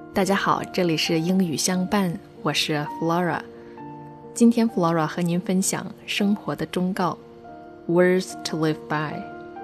大家好，这里是英语相伴，我是 Flora。 今天 Flora 和您分享生活的忠告 Words to live by。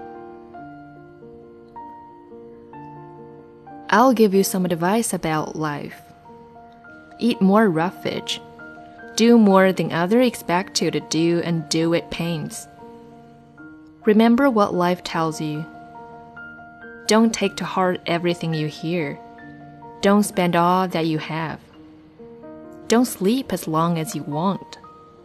I'll give you some advice about life. Eat more roughage. Do more than others expect you to do and do with pains. Remember what life tells you. Don't take to heart everything you hear.Don't spend all that you have. Don't sleep as long as you want.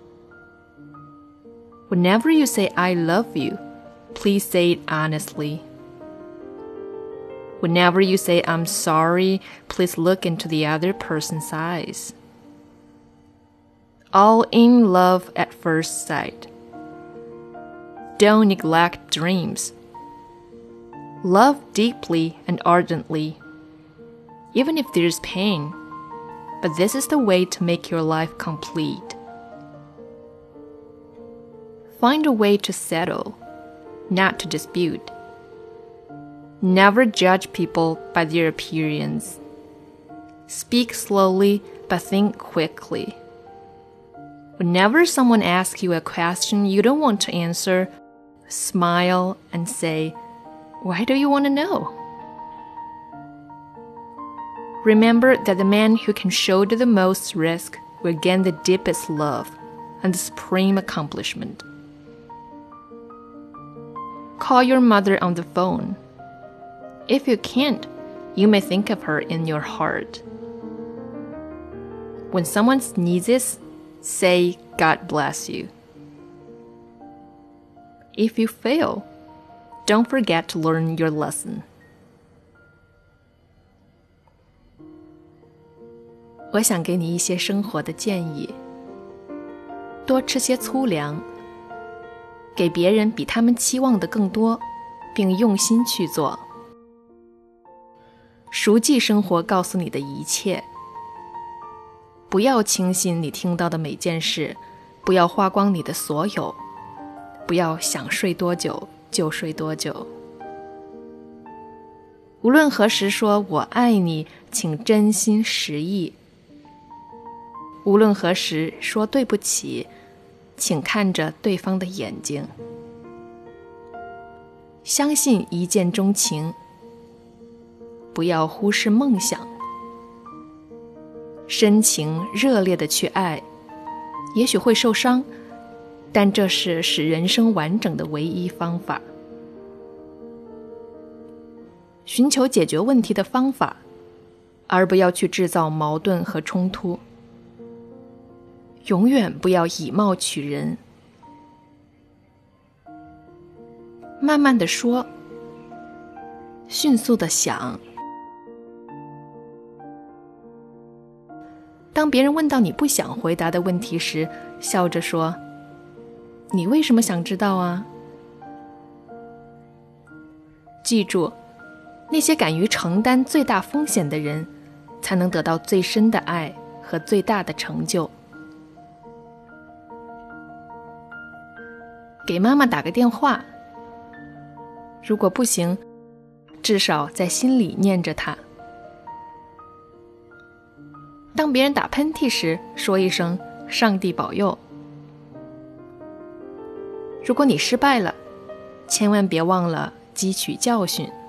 Whenever you say I love you, please say it honestly. Whenever you say I'm sorry, please look into the other person's eyes. All in love at first sight. Don't neglect dreams. Love deeply and ardently.Even if there's pain, but this is the way to make your life complete. Find a way to settle, not to dispute. Never judge people by their appearance. Speak slowly, but think quickly. Whenever someone asks you a question you don't want to answer, smile and say, "Why do you want to know?"Remember that the man who can shoulder the most risk will gain the deepest love and the supreme accomplishment. Call your mother on the phone. If you can't, you may think of her in your heart. When someone sneezes, say God bless you. If you fail, don't forget to learn your lesson.我想给你一些生活的建议。多吃些粗粮，给别人比他们期望的更多，并用心去做。熟记生活告诉你的一切。不要轻信你听到的每件事，不要花光你的所有，不要想睡多久就睡多久。无论何时说我爱你，请真心实意。无论何时说对不起，请看着对方的眼睛。相信一见钟情，不要忽视梦想。深情热烈地去爱，也许会受伤，但这是使人生完整的唯一方法。寻求解决问题的方法，而不要去制造矛盾和冲突。永远不要以貌取人。慢慢地说，迅速地想。当别人问到你不想回答的问题时，笑着说：“你为什么想知道啊？”记住，那些敢于承担最大风险的人，才能得到最深的爱和最大的成就。给妈妈打个电话，如果不行，至少在心里念着她。当别人打喷嚏时，说一声“上帝保佑”。如果你失败了，千万别忘了汲取教训。